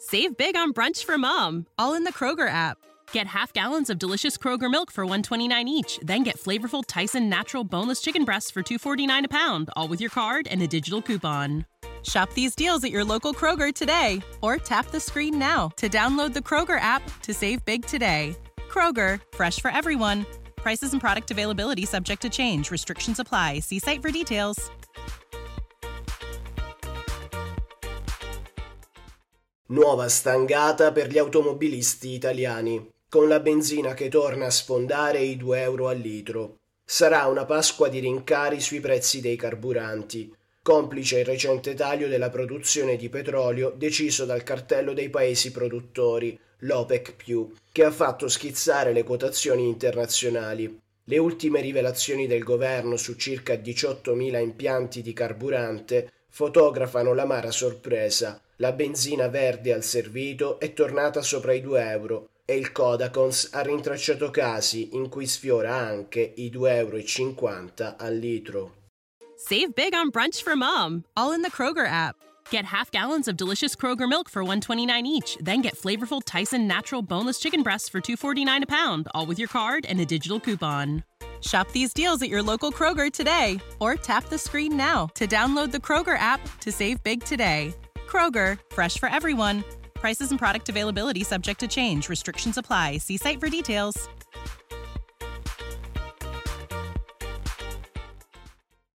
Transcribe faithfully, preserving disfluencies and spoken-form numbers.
Save big on brunch for mom, all in the Kroger app. Get half gallons of delicious Kroger milk for one dollar and twenty-nine cents each. Then get flavorful Tyson natural boneless chicken breasts for two dollars and forty-nine cents a pound, all with your card and a digital coupon. Shop these deals at your local Kroger today, or tap the screen now to download the Kroger app to save big today. Kroger, fresh for everyone. Prices and product availability subject to change. Restrictions apply. See site for details. Nuova stangata per gli automobilisti italiani, con la benzina che torna a sfondare i due euro al litro. Sarà una Pasqua di rincari sui prezzi dei carburanti, complice il recente taglio della produzione di petrolio deciso dal cartello dei paesi produttori, l'OPEC più, che ha fatto schizzare le quotazioni internazionali. Le ultime rivelazioni del governo su circa diciottomila impianti di carburante fotografano l'amara sorpresa. La benzina verde al servito è tornata sopra i due euro e il Codacons ha rintracciato casi in cui sfiora anche i due euro e cinquanta al litro. Save big on brunch for mom, all in the Kroger app. Get half gallons of delicious Kroger milk for one dollar and twenty-nine cents each. Then get flavorful Tyson natural boneless chicken breasts for two dollars and forty-nine cents a pound, all with your card and a digital coupon. Shop these deals at your local Kroger today, or tap the screen now to download the Kroger app to save big today. Kroger, fresh for everyone. Prices and product availability subject to change. Restrictions apply. See site for details.